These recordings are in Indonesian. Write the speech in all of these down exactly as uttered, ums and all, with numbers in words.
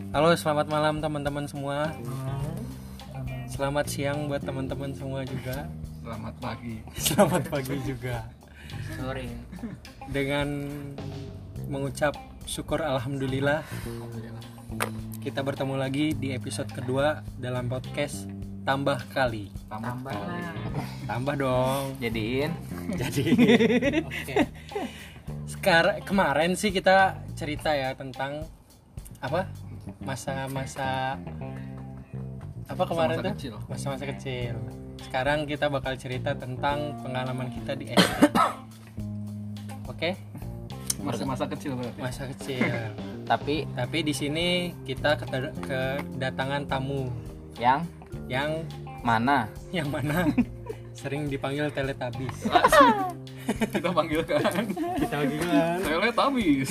Halo, selamat malam teman-teman semua. Selamat siang buat teman-teman semua juga. Selamat pagi. Selamat pagi juga. Sore. Dengan mengucap syukur alhamdulillah, kita bertemu lagi di episode kedua dalam podcast Tambah Kali. Tambah lah. Tambah dong. Jadiin. Jadi oke. Sekarang kemarin sih kita cerita ya tentang apa? Masa-masa apa kemarin Masa-masa tuh? kecil. Masa-masa kecil. Sekarang kita bakal cerita tentang pengalaman kita di S D. Oke? Masa-masa kecil berarti. Masa kecil. Tapi Tapi di sini kita keted- kedatangan tamu yang yang mana? yang mana sering dipanggil Teletubbies. Kita panggil kan. Kita panggil Teletubbies.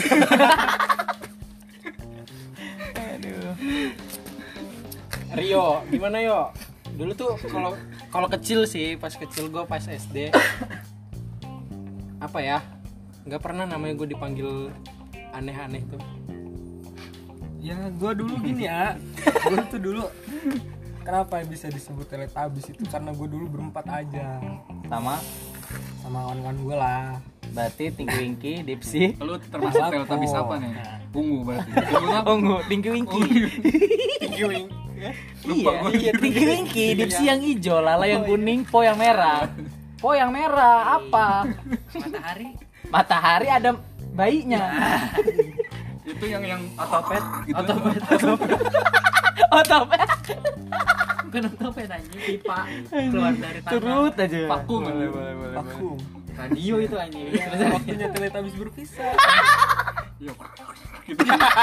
Aduh. Rio, gimana yo? Dulu tuh kalau kalau kecil sih, pas kecil gue pas S D apa ya? Nggak pernah namanya gue dipanggil aneh-aneh tuh. Ya gue dulu gini ya, gue tuh dulu kenapa bisa disebut Teletubbies itu karena gue dulu berempat aja Sama sama kawan-kawan gue lah. berarti Tinky Winky, Dipsy, Lu termasuk Aku. Teletubbies apa nih? Ungu berarti. Ungu apa? Ungu, Tinky Winky. Tinggi wing. Lupa Iya, gua. iya, Tinky Winky, Dipsy yang hijau, Lala yang kuning, Po yang merah. Po yang merah apa? Matahari. Matahari ada bayinya. Itu yang yang otopet gitu. Otopet, otopet. Otopet. Bukan otopet anjing, pipa keluar dari tanah. Turut aja. Vakum. Boleh, boleh, boleh. Vakum. Radio itu anjing. Waktunya Teletubbies berpisah. Iya. Gitu.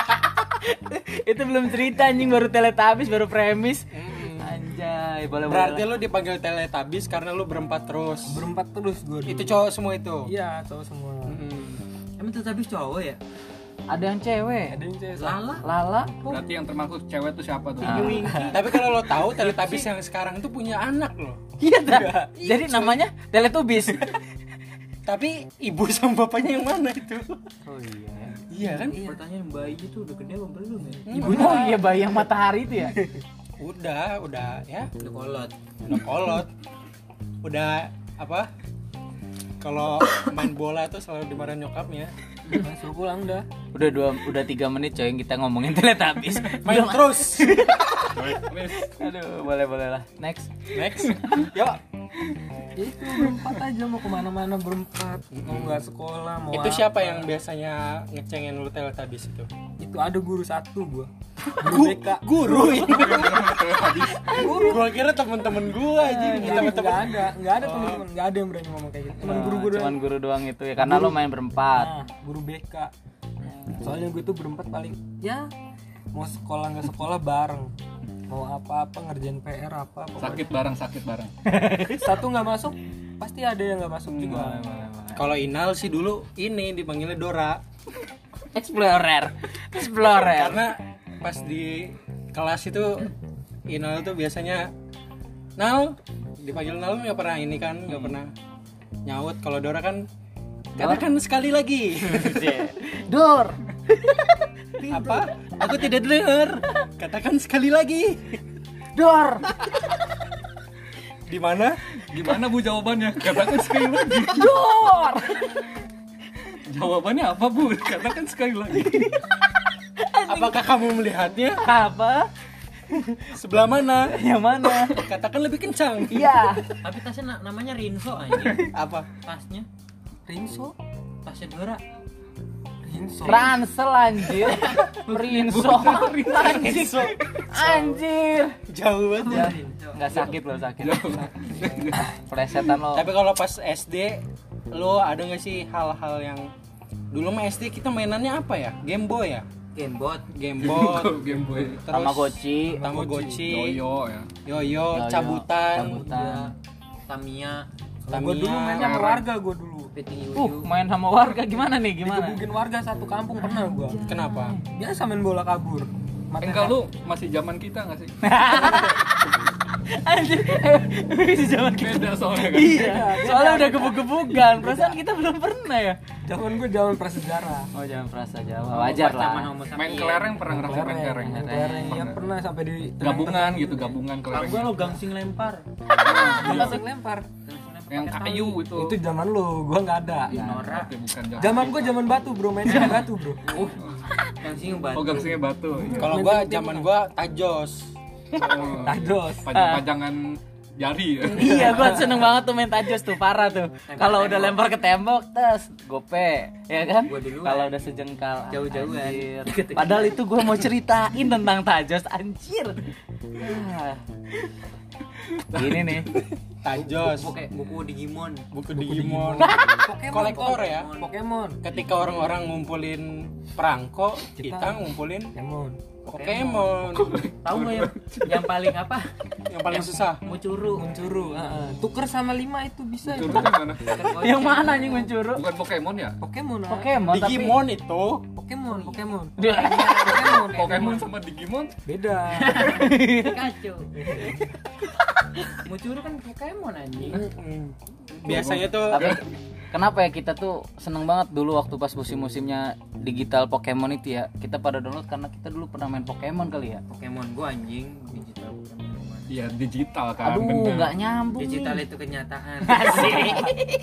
Itu belum cerita anjing, baru Teletubbies, baru premis. Anjay, boleh Berarti boleh. lu dipanggil Teletubbies karena lu berempat terus. Berempat terus gue. Itu cowok semua itu. Iya cowok semua. Hmm. Emang Teletubbies cowok ya? Ada yang cewek. Ada yang cewek. Lala. Lala. Berarti yang termasuk cewek tuh siapa tuh? Ah. Tapi kalau lo tahu Teletubbies yang sekarang tuh punya anak loh. Iya dah. Jadi namanya Teletubbies. Tapi ibu sama bapaknya yang mana itu? Oh iya. Iya kan? Pertanyaan bayi itu udah gede apa belum ya? Ibunya Oh iya, bayi yang matahari itu ya. udah, udah ya, Udah kolot. udah kolot. Udah apa? Kalau main bola tuh selalu dimarahin nyokapnya. Masuk pulang dah. Udah dua, udah tiga menit coy yang kita ngomongin Teletubbies. Main terus. Aduh, boleh boleh lah. Next. Next. Yuk. Ya itu berempat aja mau kemana-mana berempat. Mau nggak sekolah mau. Itu apa. siapa yang biasanya ngecengin lu Teletubbies itu? Itu ada guru satu gue. Guru B K. Guru. Guru. Gua kira temen-temen gua aja. Nggak Temen-temen. ada, nggak ada teman-teman, nggak ada yang berani ngomong kayak gitu. Cuman guru-guru. Oh, cuman guru doang itu ya, karena lo main berempat. Nah, guru B K. Soalnya gue tuh berempat paling ya mau sekolah nggak sekolah bareng, mau apa-apa ngerjain P R apa pokoknya. Sakit bareng, sakit bareng. Satu nggak masuk pasti ada yang nggak masuk juga. Kalau Inal sih dulu ini dipanggilnya Dora. Explorer. Explorer. Karena pas di kelas itu Inal tuh biasanya Nal, dipanggil Nal nggak pernah ini kan, nggak pernah nyaut. Kalau Dora kan katakan sekali lagi. Dor. Apa? Aku tidak dengar. Katakan sekali lagi. Dor. Di mana? Gimana Bu jawabannya? Katakan sekali lagi. Dor. Jawabannya apa Bu? Katakan sekali lagi. Apakah kamu melihatnya? Apa? Sebelah mana? Yang mana? Katakan lebih kencang. Iya. Tapi tasnya na- namanya Rinso anjing. Apa? Tasnya Rinso, tasnya Dora. Rinso. Ransel anjir. Rinso. Anjir. Anjir. Jauh banget ya. Enggak sakit loh, sakit. Plesetan lo. Tapi kalau pas S D, lo ada nggak sih hal-hal yang dulu mah S D kita mainannya apa ya? Game Boy ya? Gamebot. Game Boy, Game Boy. terus Tamagotchi. Tamagotchi, Yoyo ya. yoyo, Yoyo, cabutan, cabutan. Tamiya. Gue dulu mainnya sama warga gue dulu. Peting Uh, yuyu. main sama warga gimana nih? Gimana? Digebukin warga satu kampung pernah gue. Kenapa? Biasa main bola kabur. Matanya- Enggak lu masih zaman kita enggak sih? Anjir. Di zaman kita. Beda soalnya kan. Iya, soalnya udah gebuk-gebukan. Perasaan kita belum pernah ya. Zaman gue zaman prasejarah. Oh, jangan perasa Jawa. Wajar Zaman lah. homo sapiens. Main kelereng pernah ngerasain main kelereng? Main kelereng ya pernah sampai di Gabungan gitu, gabungan Kalau kelereng. gua lo gangsing lempar. langsung lempar. Yang kayu itu. Itu zaman lu, gua nggak ada. Norak. Oke, bukan zaman. Zaman gua zaman batu bro, mainnya di batu bro. Gangsing batu. Oh, gangsingnya batu. Kalau gua zaman gua tajos. Oh, Tajos. Pajang-pajangan jari ya. Iya, gua seneng banget tuh main tajos tuh, parah tuh. Kalau udah lempar ke tembok, tes, gope, ya kan? Gua duluan. Kalau udah sejengkal, Jauh-jauhan. anjir. Padahal itu gua mau ceritain tentang tajos, anjir. Ah. Ini nih. Tajos. Buku buku Digimon. Buku Digimon. Pokemon, Kolektor ya. Pokemon. Ketika orang-orang ngumpulin perangko, kita ngumpulin Pokemon. Pokemon. Tahu nggak yang yang paling apa? Yang paling susah. Mucuru. Mencuru, heeh. Tuker sama lima itu bisa. Curug yang mana? Yang mana anjing mencuru? Bukan Pokemon ya? Pokemon. ah. Pokemon tapi Digimon itu Pokemon, Pokemon. Pokemon, Pokemon sama Digimon. Beda. Kacau. Mucuru kan Pokemon anjing. biasanya tuh Tapi kenapa ya kita tuh seneng banget dulu waktu pas musim-musimnya digital Pokemon itu ya. Kita pada download karena kita dulu pernah main Pokemon kali ya. Pokemon gua anjing digital Pokemon. Iya, digital kan. Aduh, bener. nggak nyambung. Digital nih. itu kenyataan. Asik.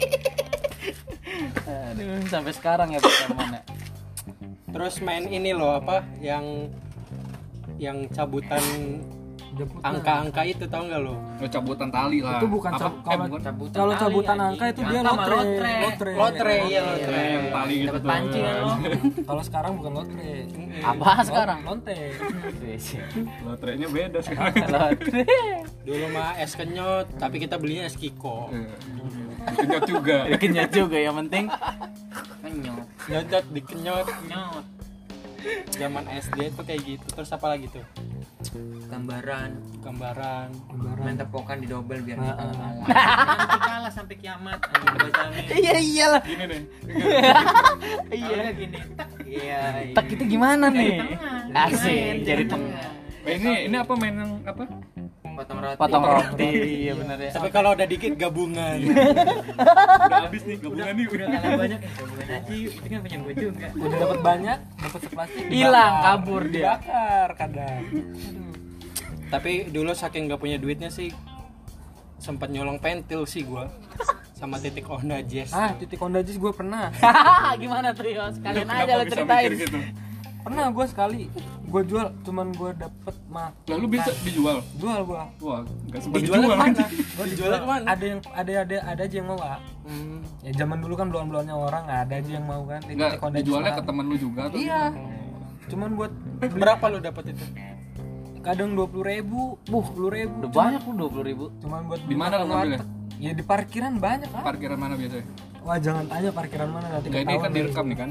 Aduh, sampai sekarang ya Pokemon ya. terus main ini loh apa yang yang cabutan Jemput angka-angka itu tau nggak lo? Lo cabutan tali lah. Itu bukan Apa? cab- Eh, kalau bukan. Cabutan kalau tali, cabutan anjing. angka itu dia Angka mah lotre. lotre. Lotre. Lotre iya lotre. Yang tali gitu Dapat tuh. pancingan lo. Kalau sekarang bukan lotre. Apa sekarang? Lonte. Lotrenya beda sekarang. Lotre. Dulu mah es kenyot, tapi kita belinya es kiko. Kenyot juga. Kenyat juga yang penting. Kenyot. Nyot dikenyot. Nyot. Zaman S D tuh kayak gitu. Terus apa lagi tuh? Gambaran. Gambaran. Main tepokan di double biar Nah, kita ah. kalah. Nanti kalah sampai kiamat. Anjing gua jamin. Iya iyalah. Gini nih. Kalau nggak gini. Tak. Iya. iya. Tak itu gimana nih? Tengah. Asik, Main, jadi tengah. Eh, ini ini apa main yang apa? Potong roti. Potong roti, iya benar ya. Tapi kalau udah dikit gabungan. Udah habis nih gabungan nih. Udah kalah banyak ya. Gabungan aja. Itu kan punya gua juga. Udah dapat banyak, dapat seplastik. Hilang, dibakar. kabur dia. Dibakar kadang. Tapi dulu saking nggak punya duitnya sih sempat nyolong pentil sih gua sama titik Honda Jazz. Ah, titik Honda Jazz gue pernah. Gimana tuh ya? Sekalian Kenapa aja lo bisa ceritain. mikir gitu? Pernah gue sekali. Gue jual, cuman gue dapet mah. Lalu bisa dijual. Jual gue. Wah, enggak sempat Dijualnya dijual. kemana? Gue Dijualnya kemana? Ada yang ada ada ada aja yang mau Pak. Hmm. Ya zaman dulu kan belum-belumnya orang ada aja yang mau kan. Enggak, Titik Honda Jazz dijualnya lah. ke temen lu juga atau Iya. gimana? Cuman buat Berapa lu dapat itu? kadang dua puluh ribu, buh, sepuluh ribu. Udah banyak lu dua puluh ribu. Cuman buat Di mana makan lu ngambilnya? warteg. Ya di parkiran banyak kan. Parkiran mana biasanya? Wah jangan tanya parkiran mana nanti Enggak, ini ketahuan kan deh. direkam nih kan.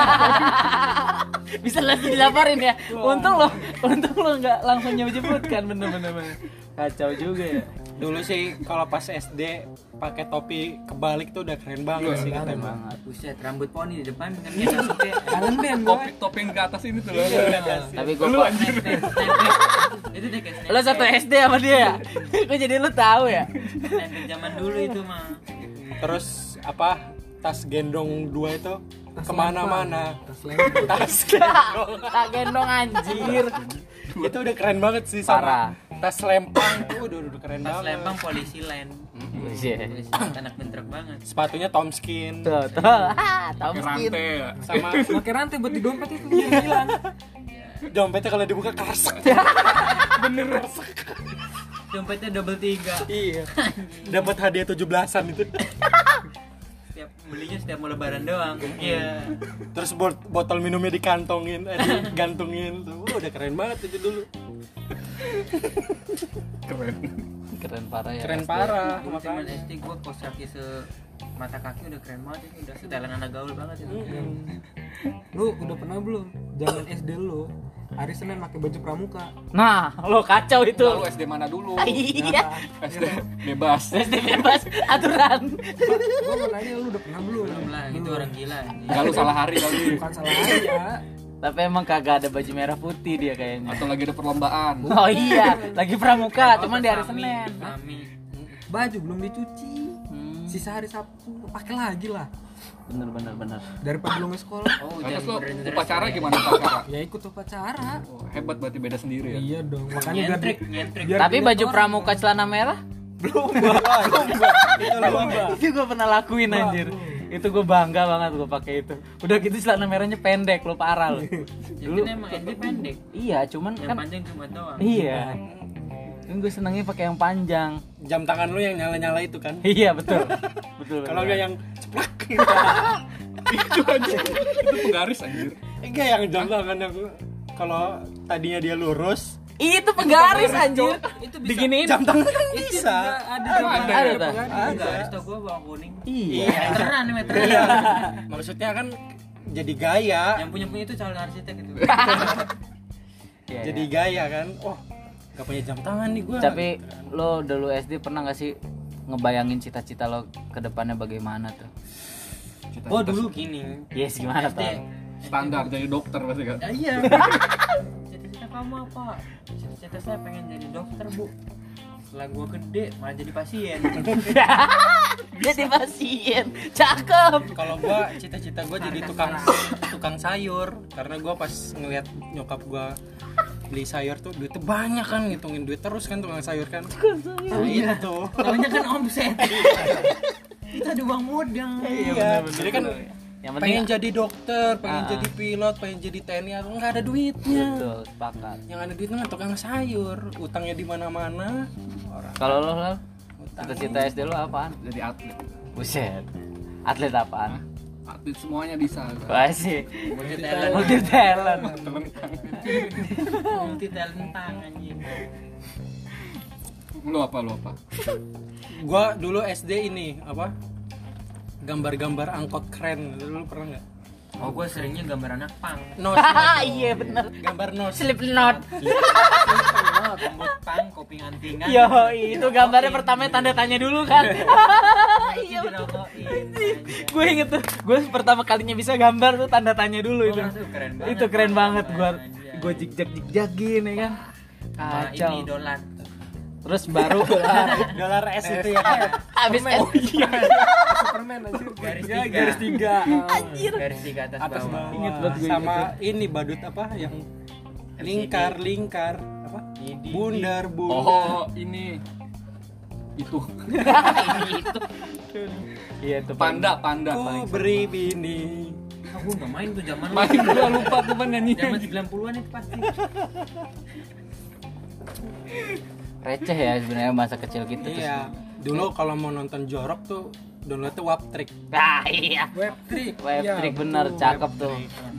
Bisa langsung dilaporin ya. Untung lo, untung lo nggak langsung nyebut-nyebutkan bener-bener. Kacau juga ya. Dulu sih kalau pas S D pakai topi kebalik tuh udah keren banget sih Keren katanya. Banget. Buset, rambut poni di depan kan dia masuknya. Kangen band gue. Topi topeng ke atas ini tuh loh. Tapi gue Lu anjir. Itu deh kayak lo satu S D sama dia ya? Kok jadi lo tahu ya? Snapchat zaman dulu itu mah. Terus apa tas gendong dua itu kemana-mana. Tas lempar. Tas gendong. Tak gendong anjir. Itu udah keren banget sih Parah. sama tas lempang tuh udah udah keren Pas banget. lempang polisi land. Iya. Polisi land, anak bentrok banget. Sepatunya Tomskin Tuh, tuh. Ah, tahu Pakai skin. rantai ya. sama Pakai rantai buat di dompet itu biar hilang. dompetnya kalau dibuka keresek. Bener resek. Dompetnya double tiga. Iya. Dapat hadiah tujuh belasan itu. Setiap belinya setiap mau lebaran doang. Iya. Terus bot- botol minumnya dikantongin, eh, digantungin tuh. Wah, udah keren banget itu dulu. Keren. Keren parah ya. Keren S D. parah. Dulu zaman Makanya. S D gua kos kaki se mata kaki udah keren banget ini, udah setelan anak gaul banget itu. Lu udah pernah belum? Zaman S D lu hari Senin pakai baju pramuka. Nah, lo kacau itu. Lalu S D mana dulu? Iya. S D bebas. S D bebas aturan. Gua mau nanya lu udah pernah belum? Belum lah, itu orang gila. anjing. Enggak lu salah hari kali. Bukan salah aja. Tapi emang kagak ada baju merah putih dia kayaknya. Atau lagi ada perlombaan. Oh iya, lagi pramuka, cuman di hari Kami, Senin. kami. Baju belum dicuci. Hmm, Sisa hari Sabtu pakai lagi lah. bener bener bener. Daripada belum ke sekolah. Oh, Terus lo bener-bener upacara ya. gimana upacara? Ya ikut upacara. Oh, hebat berarti beda sendiri ya. Iya dong. Makanya biar Nyentrik, di- nyentrik. biar Tapi dilihat baju orang. pramuka celana merah Belum, belum, itu lomba. itu gue pernah lakuin anjir. Itu gue bangga banget gue pakai itu. Udah gitu celana merahnya pendek, lo parah lo. Jadi emang S D pendek. Iya, cuman Yang kan panjang cuma doang. iya. Kan gue senengnya pakai yang panjang. Jam tangan lu yang nyala-nyala itu kan. Iya betul. Betul. Kalau betul. enggak yang ceplak. Itu aja. Itu penggaris anjir. Enggak yang jam tangan yang kalau tadinya dia lurus, itu penggaris anjir. Itu bisa. Diginiin. jam tangan kan bisa. Ada Ada, ada, ada, tak? Enggak, harus tau gua bawang kuning. Iya. Meteran nih, meteran. Iya. Maksudnya kan jadi gaya, Yang punya-punya itu calon arsitek itu. Iya, jadi iya. gaya kan. Oh, gak punya jam tangan nih gua. Tapi lo dulu S D pernah gak sih ngebayangin cita-cita lo ke depannya bagaimana tuh? Cita-cita Oh, dulu gini. Yes, gimana S D. tuh? standar jadi dokter pasti kan. Ya, iya. Cita-cita kamu apa? Cita-cita saya pengen jadi dokter, Bu. Setelah gua gede malah jadi pasien. Jadi pasien. Cakep. Kalau gua cita-cita gua jadi tukang tukang sayur karena gua pas ngeliat nyokap gua beli sayur tuh duitnya banyak kan, ngitungin duit terus kan tukang sayur kan. Nah, itu. Namanya kan omset. Kita ada uang modal. Iya, jadi kan Yang penting pengen jadi dokter, pengen Ah. jadi pilot, pengen jadi T N I, nggak ada duitnya. betul, sepakat. Yang ada duitnya mah tukang sayur, utangnya di mana-mana. Orang Kalau lo, Lal, utang. cita-cita S D lo apaan? Jadi atlet. Buset. Atlet apaan? Atlet semuanya bisa. Wah sih. Multi talent. Multi talent. Multi talent anjing. Lu apa lu apa? Gua dulu S D ini apa? Gambar-gambar angkot keren. Dulu pernah nggak? Oh, gue seringnya gambar anak pang. Nos. Iya bener. Gambar nos. Slipknot. Rambut pang, kopi antingan. Yo, itu gambarnya pertama tanda tanya dulu kan. Iya, dirokokin. Gue inget tuh, gue pertama kalinya bisa gambar tuh tanda tanya dulu itu. Oh, keren banget. Itu keren banget gue. Anjay. Gue jigjag jigjagin ya kan. Sama Kacau. ini dolar. Terus baru Dolar S itu ya. abis Oh, iya. Superman anjir. Garis Ya, tiga. garis tiga. anjir. Garis tiga atas, Atas bawah. bawah. Ingat banget gue Sama ini badut apa yang lingkar lingkar apa? Bundar bundar. Oh, ini itu itu. Iya itu panda panda Ku paling beri bini. Aku nggak main tuh zaman main gua lupa tuh pan nyanyi. zaman sembilan puluhan itu pasti. receh ya sebenarnya masa kecil gitu tuh. Iya. Dulu kalau mau nonton jorok tuh downloadnya Waptrick. Ah iya. Web trick. Web Iya, trick bener, betul. cakep tuh.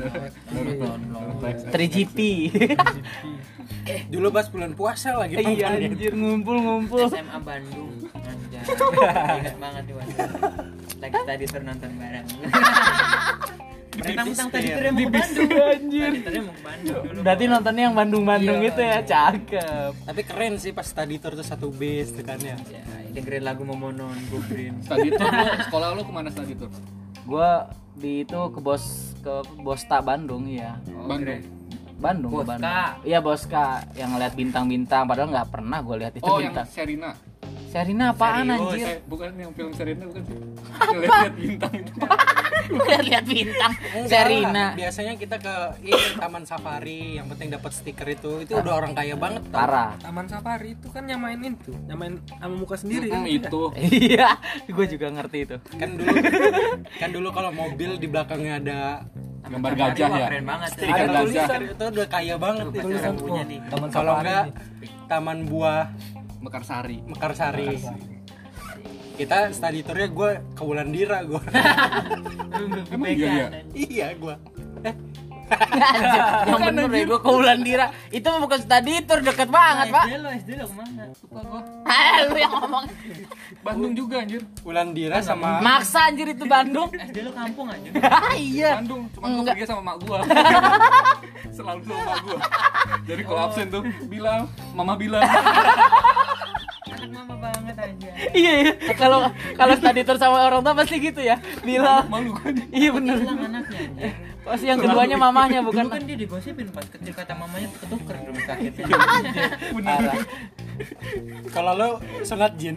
tiga G P. Dulu pas bulan puasa lagi Iya nontonnya. anjir ngumpul-ngumpul. S M A Bandung. Anjay. Ingat banget tuh waktu itu. Lagi tadi tur nonton bareng. Mereka mentang tadi tur mau ke Bandung. Anjir. Tadi turnya mau ke Bandung dulu. Berarti nontonnya yang Bandung-Bandung Iya, gitu ya, cakep. Tapi keren sih pas tadi tour tuh satu bis tuh kan ya. Ya, dengerin lagu Momonon, Gubrin. Tadi tuh lu, sekolah lu kemana tadi tuh? Gua di itu ke bos ke Bosta Bandung ya. Bandung. Bandung, ke Boska. Bandung. Iya Boska yang ngeliat bintang-bintang padahal nggak pernah gue lihat itu Oh, yang bintang. Serina. Serina apaan Serius? anjir? Eh, bukan yang film Serina bukan sih? Lihat bintang itu. Bukan lihat bintang. Enggak Serina. lah. Biasanya kita ke ini Taman Safari yang penting dapat stiker itu. Itu udah orang kaya banget tau. Parah. Taman Safari itu kan nyamain itu, nyamain sama muka sendiri kan. Hmm, itu. Iya, gue juga ngerti itu. Kan dulu kan dulu kalau mobil di belakangnya ada Gambar gajah ya. Keren banget. ya. Stiker ada gajah. tulisan itu udah kaya banget itu. Tulisan punya nih. Taman Kalau Safari enggak nih. Taman Buah Mekarsari. Mekarsari. Kita study tournya gue ke Wulandira gue. Emang iya ya? Iya gue. Eh, Yang bener ya gue ke Wulandira. Itu mah bukan study tour deket banget, Pak. S D lo, S D lo kemana? Lupa gua. Ah, lu yang ngomong. Bandung juga anjir. Wulandira sama Maksa anjir itu Bandung. S D lo kampung aja. Iya. Bandung, cuma gua Enggak. pergi sama mak gua. Selalu sama mak gua. Jadi kalau absen tuh bilang, mama bilang. Anak mama banget aja. aja. Iya iya. Kalau kalau study tour sama orang tua pasti gitu ya. Bila Malu kan. iya bener. Hilang anaknya anjir. Pasti yang keduanya mamahnya bukan. Dulu kan dia digosipin pas kecil kata mamanya ketuker di rumah sakit. Parah. Kalau lo sunat jin,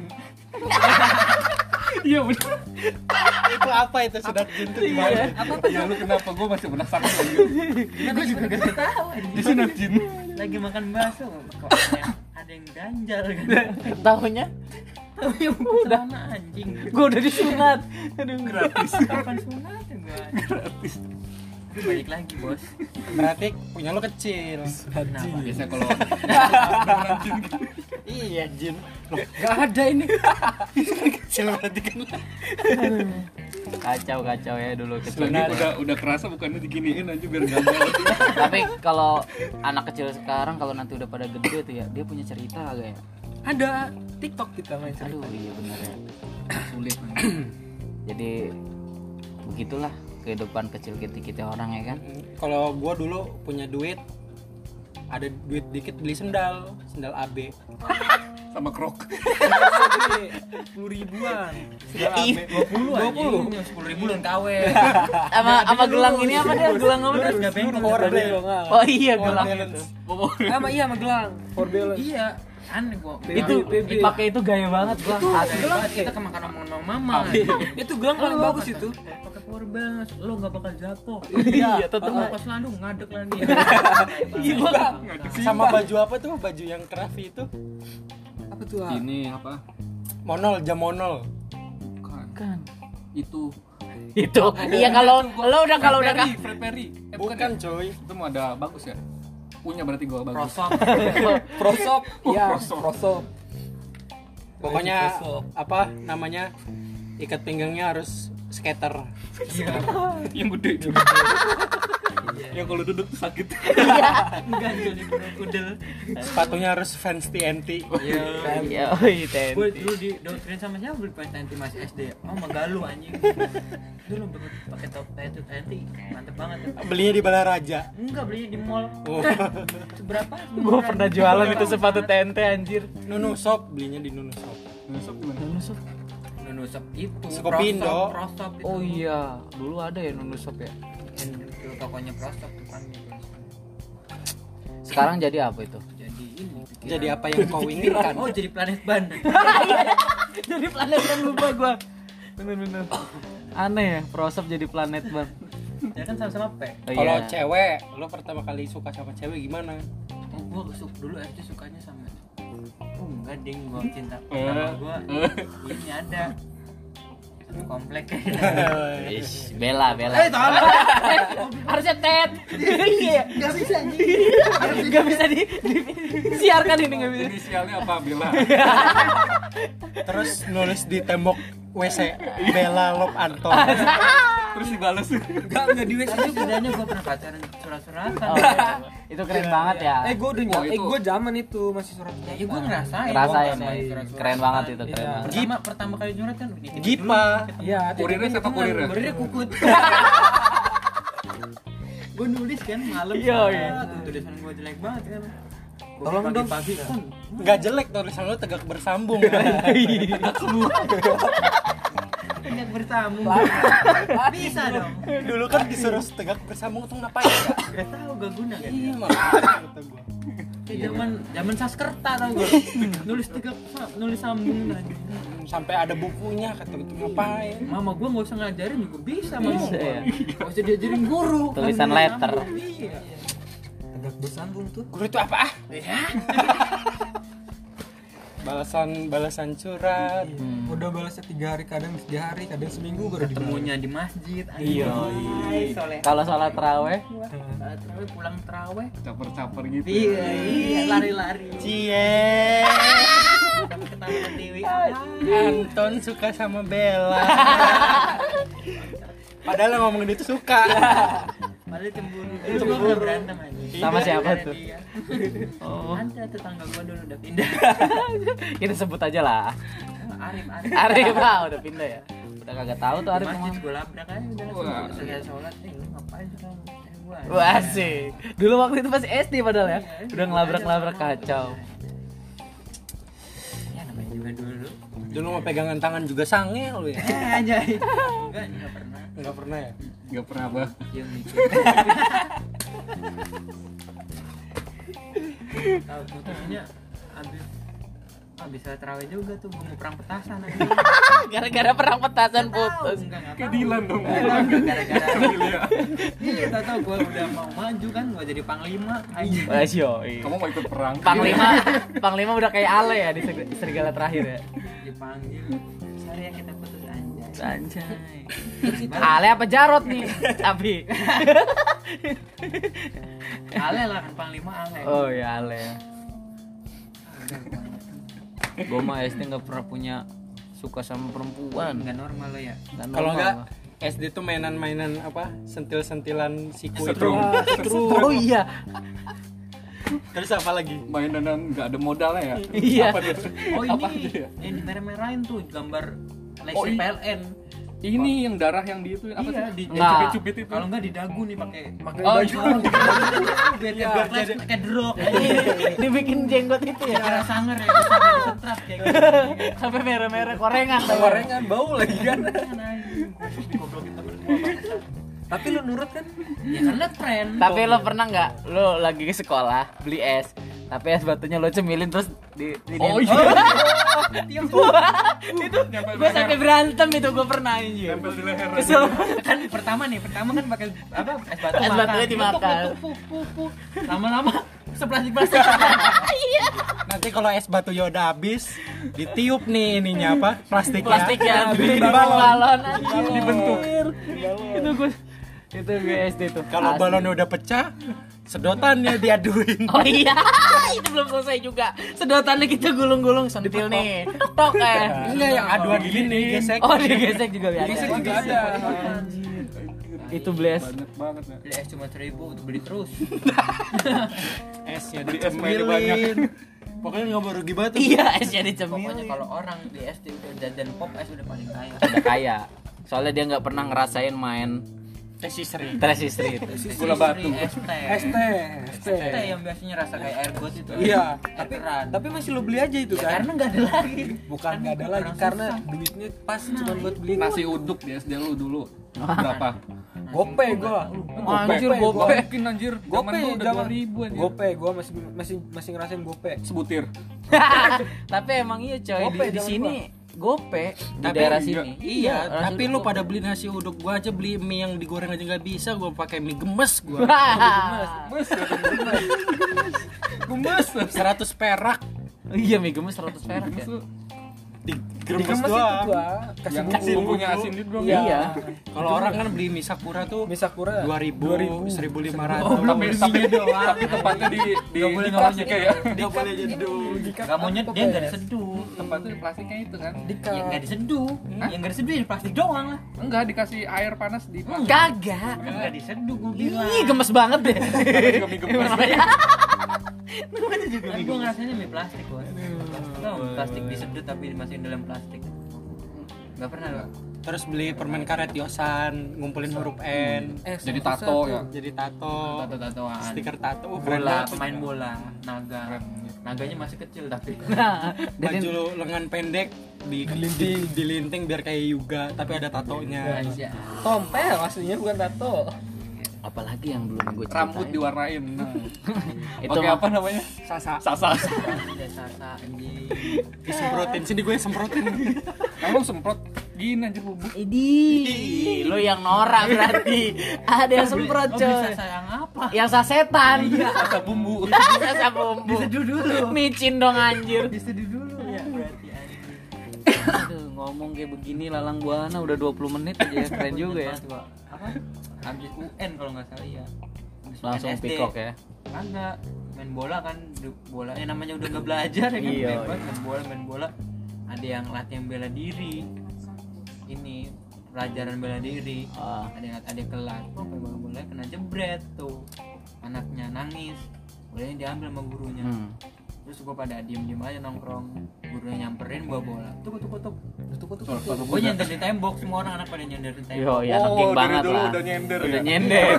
Iya benar. itu apa itu sunat jin tuh gimana? Ya lu kenapa gua masih penasaran lagi. Gue juga gak tahu anjir. Di sunat jin. Lagi makan bakso kok ada- ada yang ganjal kan. Tahunya Tahu yang udah anjing. gue udah disunat. Aduh. Gratis. Kapan sunat ya gua? Gratis. Itu balik lagi, Bos. Berarti punya lo kecil. Kenapa? Biasanya kalau beneran jin kan. Iya jin. Loh, gak ada ini. Kecil berarti kan. Kacau kacau ya dulu kecil. Lagi udah udah kerasa bukannya diginiin aja biar gampang. Tapi kalau anak kecil sekarang kalau nanti udah pada gede tuh ya, dia punya cerita agak ya. Ada TikTok kita main cerita. Aduh iya benar ya. Sulit. Jadi begitulah kehidupan kecil kita kita orang ya kan. Kalau gua dulu punya duit, ada duit dikit beli sendal, sendal A B. Sama krok. Sepuluh ribuan. Sendal A B. dua puluh anjing. sepuluh ribu lu K W. Sama sama gelang ini apa dia? Gelang apa dia? Enggak bengkel. Power bank. Oh iya Power gelang balance. itu. Sama iya sama gelang. For balance. Iya. Aneh gua. Itu dipakai itu gaya banget gua. Asli. Gelang kita kemakan omongan sama mama. Itu gelang paling bagus itu. Pakai power balance, lo enggak bakal jatuh. Iya, tetep. Kalau pas landung ngadek lah dia. Gila. Sama baju apa tuh? Baju yang Krafi itu? Apa tuh? Ah? Ini apa? Monol, jam monol. Bukan. Kan. Itu Itu. Iya kalau lo udah kalau udah Fred Perry, Fred Perry. Eh, Bukan ya? coy. Itu mau ada bagus ya? Punya berarti gua bagus. Prosop. Prosop. Iya, prosop. prosop. Pokoknya Prosop. apa namanya? Ikat pinggangnya harus skater. Yang gede. Yang kalau duduk tuh sakit. Enggak jadi kudel. Sepatunya harus Vans T N T. Iya. Iya, oi ten. Gue dulu di doktrin sama siapa beli Vans T N T masih S D. Oh, Magalu anjing. Dulu pakai top T N T mantep banget. Belinya di Balaraja. Enggak belinya di mall. Oh. Seberapa? Gua pernah jualan itu sepatu T N T anjir. Nunu Shop, belinya di Nunu Shop. Nusuk gimana? Nunusop. Nunusop itu. Skopindo. Prosop itu. Oh iya, dulu ada ya Nunusop ya. Yang dulu tokonya Prosop depannya. Sekarang jadi apa itu? Jadi ini. pikiran. Jadi apa yang kau inginkan? Oh, jadi planet ban. Jadi planet ban lupa gua. Bener-bener. Aneh ya, Prosop jadi planet ban. Ya kan sama-sama P. Oh, Kalau iya. cewek, lo pertama kali suka sama cewek gimana? Oh, gua suka dulu S D sukanya sama. Oh, enggak ding, gua cinta Eh. sama gua. Ini ada satu komplek. Ish, Bella, Bella. Eh, tolong. Harusnya Ted. Iya. Enggak bisa anjing. Gak bisa di, di- siarkan ini gak bisa. Inisialnya apa? Bella. Terus nulis di tembok W C Bella Love Anton. Terus dibales. Enggak, enggak di W C Tapi juga. bedanya gua pernah pacaran surat-suratan. Oh, iya. Itu keren banget ya. Eh, gua udah Oh, nyam- eh itu. gua zaman itu masih surat. Ya, ya gua ngerasain. Ngerasain Gua ya. surat-suratan. Keren banget itu, keren Iya. banget. Pertama, pertama kali nyurat kan ini. Gipa. Iya, Kurirnya siapa kurirnya? Kurirnya kukut. Gua nulis kan malam. Iya, iya. Tuh, tulisan gua jelek banget kan. Gua Tolong dong. pagi-pagi kan. Nggak jelek tulisan lo tegak bersambung. Tegak bersambung. Bisa dong. Dulu kan disuruh tegak bersambung tuh ngapain ya? Gak tahu gak guna kan. Iya makanya kata gua. Kayak zaman zaman Saskerta tau gua. Nulis tegak nulis sambung lagi. Sampai ada bukunya kata itu ngapain? Mama gua nggak usah ngajarin juga bisa mama Bisa, gua. ya. Nggak usah diajarin guru. Tulisan Nulis letter. sambung. Iya. tegak bersambung tuh. Guru itu apa ah? Balasan balasan surat. Hmm. Udah balasnya tiga hari, kadang tiga hari, kadang seminggu baru dibalas. Ketemunya di masjid. Iya. Ay, soleh. Kalau sholat taraweh, Saat terawih pulang terawih. Caper-caper gitu. Iya, iya, lari-lari. Cie. Sampai ketawa Dewi. Anton suka sama Bella. Padahal yang ngomongin itu suka. Padahal cemburu. Itu gua pernah berantem aja. Sama siapa Gara-gara tuh? dia. Oh. Ada tetangga gua dulu udah pindah. kita sebut aja lah. Arif, Arif. Arif ah, udah pindah ya. Udah kagak tahu tuh Di Arif masjid kemana. gua labrak aja udah Wah. langsung selesai sholat. Eh, lu ngapain sih kamu? Eh, gua. Wah sih. Dulu waktu itu masih S D padahal ya. Udah ngelabrak-ngelabrak kacau. Ya namanya juga Enggak dulu. Dulu mau pegangan tangan juga sange lu ya. Eh anjay. Enggak, enggak pernah. Enggak pernah ya? Enggak pernah apa. Yang mikir. Tahu putusnya habis habis sholat tarawih juga tuh mau perang petasan aja. Gara-gara perang petasan putus. Enggak enggak. Kedilan dong. Gara-gara. Iya, tahu gua udah mau maju kan, gua jadi panglima aja. Masyo. Kamu mau ikut perang? Panglima, Panglima udah kayak Ale ya di ser- serigala terakhir ya. Dipanggil. Sorry ya kita putus anjay. Anjay. Ale apa Jarot nih? Tapi. Ale lah kan panglima Ale. Oh ya Ale. Gue mah S D nggak pernah punya suka sama perempuan. Enggak normal lo ya. Nggak Kalau normal. enggak S D tuh mainan-mainan apa? Sentil-sentilan siku itu. Setrum. Oh iya. Terus apa lagi? Mainan nggak ada modalnya ya? Iya. Apa tuh? Oh Apa ini aja ya? yang dimerah-merahin tuh gambar Oh, Lexi iya. P L N. Ini yang darah yang di itu apa Iya, sih? di- Yang Nggak. cubit-cubit itu. Kalau enggak di dagu nih pakai pakai Oh, baju iya. biar biar jadi kayak drop. Dibikin jenggot itu ya. Kira sanger ya, bisa di setrat kayak gitu. Sampai merah-merah korengan. Gorengan bau lagi kan. Goblokin temen gua bangsa. Tapi lu nurut kan? Ya karena tren. Tapi lo pernah nggak lo lagi ke sekolah beli es, tapi es batunya lo cemilin terus di, di Oh di- iya. itu gue sampai berantem itu gue pernah anjir. Nempel di leher. Kesel. Kan pertama nih, pertama kan pakai apa? Es batu Es makan. batunya dimakan. Letuk, letuk, puk, puk, puk. Lama-lama seplastik-plastik. Nanti kalau es batunya udah habis, ditiup nih ininya apa? Plastiknya. Plastik ya, Dibikin dibikin balon. balon anjir. Dibentuk. Itu gue itu gue S D tuh. Kalau Asli. balonnya udah pecah, sedotannya diaduin. Oh iya, itu belum selesai juga. Sedotannya kita gulung-gulung sentil nih. Tok eh. Enggak yang aduan gini gesek. Oh, digesek juga ya. Gesek juga ada. Itu beli es. Banyak banget ya. Beli es cuma seribu untuk beli terus. Esnya Beli es mainnya banyak. dicemilin. Pokoknya nggak mau rugi banget. Iya, esnya Pokoknya dicemilin. kalau orang di S D udah jajan pop es udah paling kaya. Udah kaya. Soalnya dia nggak pernah ngerasain main Tes istri. Trash Street. Gula batu. Es teh. S T, S T. Es teh yang biasanya rasa kayak air got itu. Iya, tapi tapi keran. tapi masih lu beli aja itu Ya, kan? karena nggak ada lagi. Bukan nggak ada lagi Orang karena susah. duitnya pas cuma buat beli Nasi uduk di S D lu dulu. Berapa? gope gua. Anjir, Gope, gope. gua. Mungkin anjir. Zaman Gope lu udah zaman dua ribu anjir. Gope gua masih masih masih ngerasain gope. Sebutir. Tapi emang iya coy, Gope di, di zaman sini gope di Tapi daerah iya. sini. Iya, orang tapi sini lu gope. pada beli nasi uduk, gua aja beli mie yang digoreng aja nggak bisa, gua pakai mie gemes gua. Gemes. Gemes. seratus perak Iya, mie gemes seratus perak ya. digemes Digemes itu doang. gua kasih Yang bumbu. bumbunya asin itu dong. Iya. Kalau orang kan beli mie sakura tuh Mie Sakura dua ribu, seribu lima ratus. Oh, tapi tapi tapi tempatnya di di Nggak boleh di ngomongnya plastiknya ya. Nggak boleh jeduh. Nggak mau nyet dia nggak diseduh. Tempatnya di plastiknya itu kan. Ya nggak diseduh. Yang nggak diseduh ya di plastik doang lah. Enggak dikasih air panas di plastik. Kagak. Kan nggak diseduh gue bilang. Ih, gemes banget deh. Juga mie gemes. Namanya juga Kan gue ngerasainnya mie plastik gue. Tau plastik diseduh tapi dimasukin dalam plastik. Nggak pernah lo. Terus beli permen karet Yosan, ngumpulin huruf N, Eh, Jadi susah tato tuh. ya. jadi tato, Tato-tatoan. stiker tato, uh, keren Bola, banget. pemain bola, naga. Naganya masih kecil tapi. Nah, Baju jadi lengan pendek di dilinting, dilinting biar kayak Yuga, tapi ada tatonya. Iya. Tompel aslinya bukan tato. apalagi yang belum gue ceritain. Rambut diwarnain. Nah. Itu Oke, mah- apa namanya? Sasa. Sasa. Ada sasa anjing. Disemprotin sini gue semprotin. Kamu semprot gini anjir bubuk. Idi, lo yang norak berarti. Ada yang semprot Lo bisa coy. sayang apa? Yang sasetan. Sasa bumbu. Sasa bumbu. Diseduh dulu. Micin dong anjir. Diseduh dulu ya berarti anjing. Aduh, ngomong kayak begini Lalang Buana udah dua puluh menit aja ya. Keren juga ya. Gua, apa? Habis U N kalau nggak salah ya. Habis Langsung U N S D. pikok ya. Kagak main bola kan du- bola yang namanya udah nggak belajar ya kan Iya, bebas main bola main bola ada yang latihan bela diri ini pelajaran bela diri Ah. ada yang ada yang kelas kok bola bola kena jebret tuh anaknya nangis bolanya diambil sama gurunya Hmm. terus gua pada diem diem aja nongkrong gurunya nyamperin bawa bola tuh tuh tuh tuh tuh tuh Sepatu gua kuda. nyender di tembok semua orang anak pada nyender di tembok Yo, ya anak Oh, geng dari banget dulu lah. udah nyender Udah ya? nyender.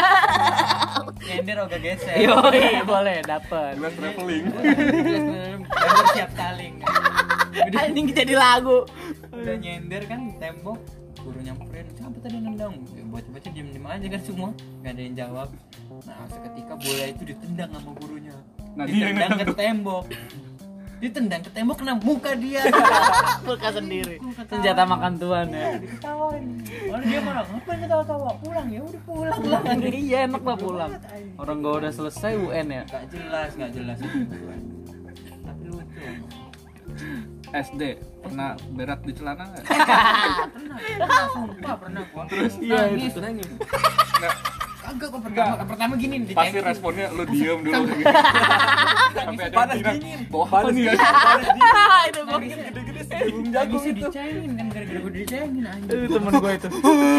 nyender ogah geser Yo, boleh dapat. Jelas traveling. Nyender siap saling Ini Anjing jadi lagu. Udah nyender kan di tembok, guru nyamperin, siapa tadi nendang? Ya, baca-baca diem-diem aja kan semua, nggak ada yang jawab. Nah seketika bola itu ditendang sama gurunya, Nah, dia yang ditendang ke nendang tuh. tembok, ditendang ke tembok kena muka dia. Muka sendiri. Senjata makan tuan ya. Diketawain, malah dia marah, ngapain ketawa-tawa? Pulang ya udah pulang lah. Iya enak lah pulang. Orang gua udah selesai U N ya. Gak jelas, gak jelas. Tapi lucu. S D pernah berak di celana nggak? Pernah, pernah, sumpah pernah gua. Terus iya, nangis, itu. nangis. Nggak, Kagak kok pertama, pertama gini di pasti responnya lu diem dulu gitu. Sampai ada panas yang bilang, dingin. bawa apa nih ya? Itu gua Gede-gede sebelum jago itu dicengin kan gara-gara gue dicengin anjing. temen gua itu.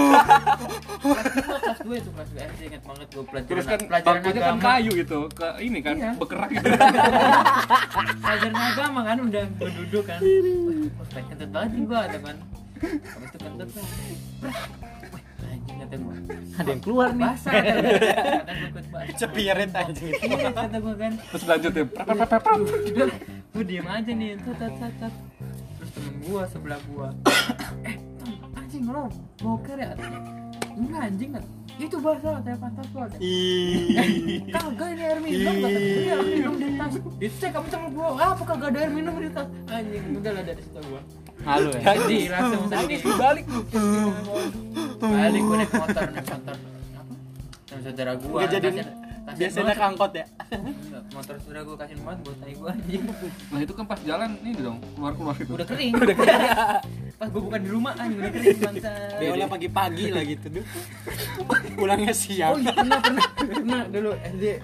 Kelas dua itu kelas dua S D ingat banget gue pelajaran Terus kan pelajaran bangkunya kan agama. kayu gitu, ke ini kan Iya. bergerak gitu. Pelajaran agama kan udah gue duduk kan. Wih, kok pengen kentut banget nih gua ada kan. Habis itu kentut kan. Wih, anjing kata gua. Ada yang keluar nih. Basah kata gua. Kata gua ikut basah. Cepirit anjing itu. Iya kata gua kan. Terus lanjut ya, prap, prap, prap, prap. Gue diem aja nih, tat tat tat tat. Terus temen gua sebelah gua, eh Tom, anjing lo boker ya? Enggak anjing kan, itu bahasa saya pantat gua. Ih. Kagak ini air minum kata gua, iya air minum di tas. Dicek kamu sama gua, apa kagak ada air minum di tas? Anjing, udah lah dari situ gua. Malu ya. Jadi langsung sedih. Balik lu. Balik gua naik motor, naik motor. Apa? Sama saudara gua. Nggak jadi kasihan- kasihan biasanya banget. angkot ya. Enggak, motor saudara gua kasihin banget buat tai gua anjing. Nah itu kan pas jalan ini dong, keluar-keluar gitu. Udah kering. Udah kering. Pas gua bukan di rumah anjing udah kering bangsa. Beolnya pagi-pagi lah gitu tuh. Pulangnya siang. Oh iya pernah pernah pernah dulu S D.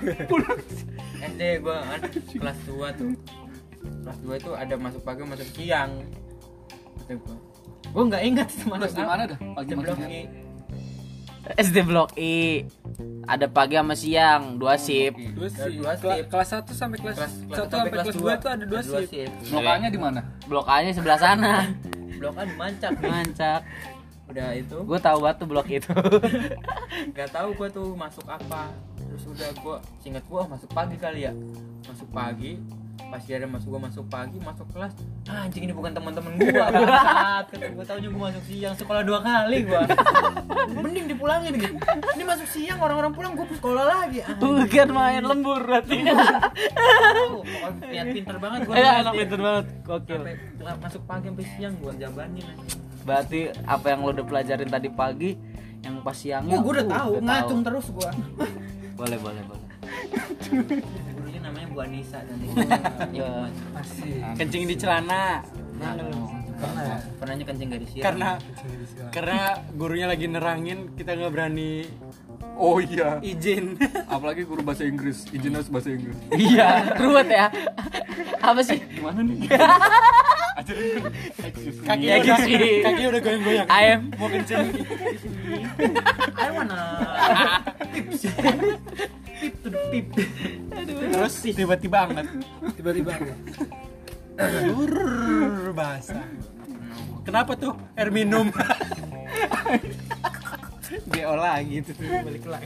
S D gua kan kelas dua tuh. Kelas dua itu ada masuk pagi masuk siang. Kata gua. Gua enggak ingat itu Terus masuk di mana dah? Pagi Di Blok masuk I. S D Blok I. Ada pagi sama siang, dua shift. Dua Ada sih. dua Kela- shift. Kelas satu sampai kelas Kelas satu sampai kelas dua itu ada dua shift. Lokalnya di mana? Blok A-nya sebelah sana. Blok A di Mancak nih. Mancak. Udah itu Gue tahu banget tuh blok itu. nggak tahu gua tuh masuk apa. Terus udah gua singkat gua masuk pagi kali ya. Masuk pagi pas dia ada masuk gua masuk pagi masuk kelas ah, anjing ini bukan teman-teman gua saat kata gua taunya gua masuk siang sekolah dua kali gua mending dipulangin gitu ini masuk siang orang-orang pulang gua sekolah lagi ah, Bukan main lembur berarti. oh, pokoknya niat pinter banget gua Iya, S D. anak pinter banget. Gokil. sampai la- masuk pagi sampai siang gua jabanin anjing. Berarti apa yang lo udah pelajarin tadi pagi yang pas siangnya oh gua udah uh, tahu ngacung terus gua Boleh, boleh, boleh. gurunya namanya Bu Anissa nanti Ya. Masih. Kencing di celana. pernah pernahnya kencing gak disiram Karena karena gurunya lagi nerangin, kita nggak berani Oh iya. izin. Apalagi guru bahasa Inggris, izin harus bahasa Inggris. Iya, ruwet ya. Apa sih? Gimana nih? Ajarin gue. Kaki Ya, udah gitu sih. kaki udah goyang-goyang. I am Mau kencing. I wanna pips pip to the pip Terus tiba-tiba angkat. Tiba-tiba ada. Brrrr, basah. Kenapa tuh? Air minum. Geo lagi tuh balik lagi.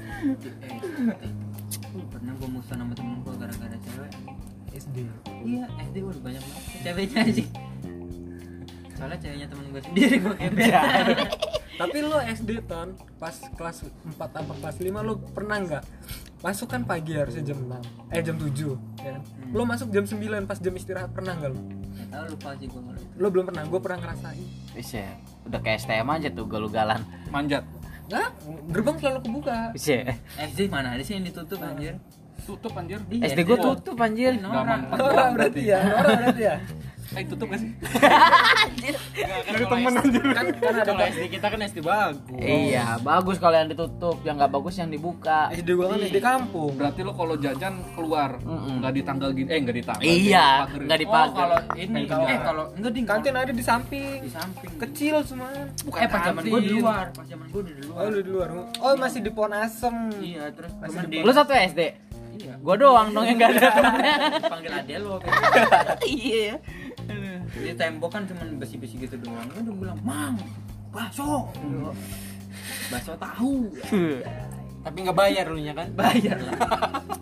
pernah gue musuh sama temen gue gara-gara cewek S D. iya S D udah banyak banget ceweknya sih soalnya ceweknya temen gue sendiri gue kebet Tapi lo S D ton pas kelas empat apa kelas lima lo pernah nggak masuk kan pagi harusnya jam enam eh jam tujuh ya kan? Lo masuk jam sembilan pas jam istirahat pernah nggak lo? nggak tahu lupa sih gue kalau itu Lo belum pernah, gue pernah ngerasain. bisa. Udah kayak S T M aja tuh galugalan. Manjat. Nggak, gerbang selalu kebuka. Bisa. S D mana ada sih yang ditutup anjir Tutup anjir. Di S D gue Oh. tutup anjir. Gak mampu. Orang berarti ya, orang berarti ya. Eh tutup gak sih? Dari temen anjir. Kan kan ada kalau S D kita kan S D bagus. Iya, bagus kalau yang ditutup, yang nggak bagus yang dibuka. S D gue kan S D kampung. Berarti lo kalau jajan keluar, Mm-mm. nggak di tanggal gini, eh nggak di tanggal. Iya, di nggak oh dipakai. kalau ini Kalau- eh kalau enggak ding Kantin ada di samping. di samping Kecil semua. Bukan eh pas zaman gue di kantin. luar pas zaman gue di luar Oh, lu di luar. Oh, masih di Pohon Asem. iya terus Masih temen di di Lu satu S D? iya Gua doang dong yang nggak ada. panggil ade lo Iya. di tembok kan cuma besi-besi gitu doang udah bilang mang bakso bakso tahu Tapi nggak bayar lu nya kan? bayar lah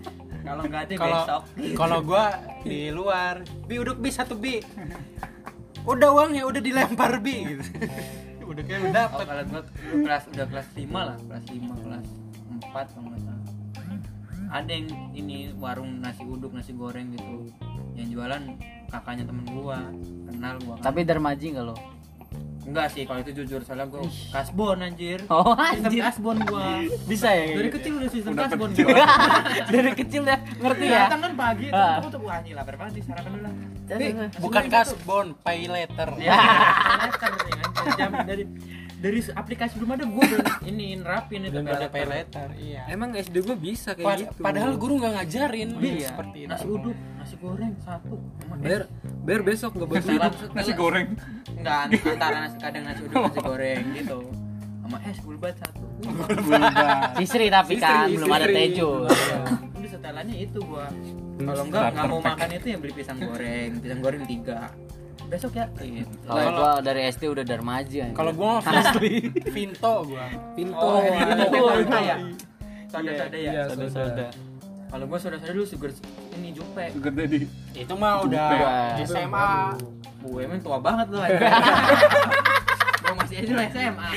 Kalau nggak ada Kalau besok. kalau gua di luar, bi uduk bi satu bi. Udah uangnya udah dilempar bi gitu. Udah kayak udah Oh, dapet. kalau gua dulu kelas udah kelas lima lah, kelas lima, kelas empat kalau nggak salah. Ada yang ini warung nasi uduk, nasi goreng gitu. Yang jualan kakaknya temen gua, kenal gua. Kan. Tapi dermaji enggak lo? Enggak sih, kalau itu jujur salah gua kasbon anjir. Oh, Sistem anjir. kasbon gua. Bisa ya? Dari kecil udah sistem Udah kasbon kecil. gua. Dari kecil ya ngerti ya? Datang kan pagi, Ah. tuh tuh wah anjir lapar banget nih, sarapan dulu lah. Bukan kasbon, pay letter. Ya, letter nih kan. Jam dari dari aplikasi belum ada gua udah ini nerapin itu Dan ada pay letter. Iya. Emang S D gue bisa kayak Pad- gitu. Padahal guru nggak ngajarin Iya. seperti itu. Nasi uduk, nasi goreng satu. Emang Ber ber besok nggak boleh Setelah- tidur. setelah- Nasi goreng. Enggak, antara nasi kadang nasi uduk nasi goreng gitu. Sama es bulbat satu. Sisri tapi kan Sisri, belum ada sisri. tejo. Udah setelannya itu gua. Kalau enggak enggak mau makan itu ya beli pisang goreng, pisang goreng tiga. Besok ya gitu. Kalau gua dari S D udah dermaji anjir. Kalau gua asli Vinto gua. Pintu. Oh, Pintu. pintu ya. Soda-soda ya. Iya, Soda-soda. soda. Kalau gua soda-soda dulu sugar ini jupe. Sugar daddy. Itu mah udah Jupe. S M A. Gue emang tua banget loh. Gua masih aja lo S M A.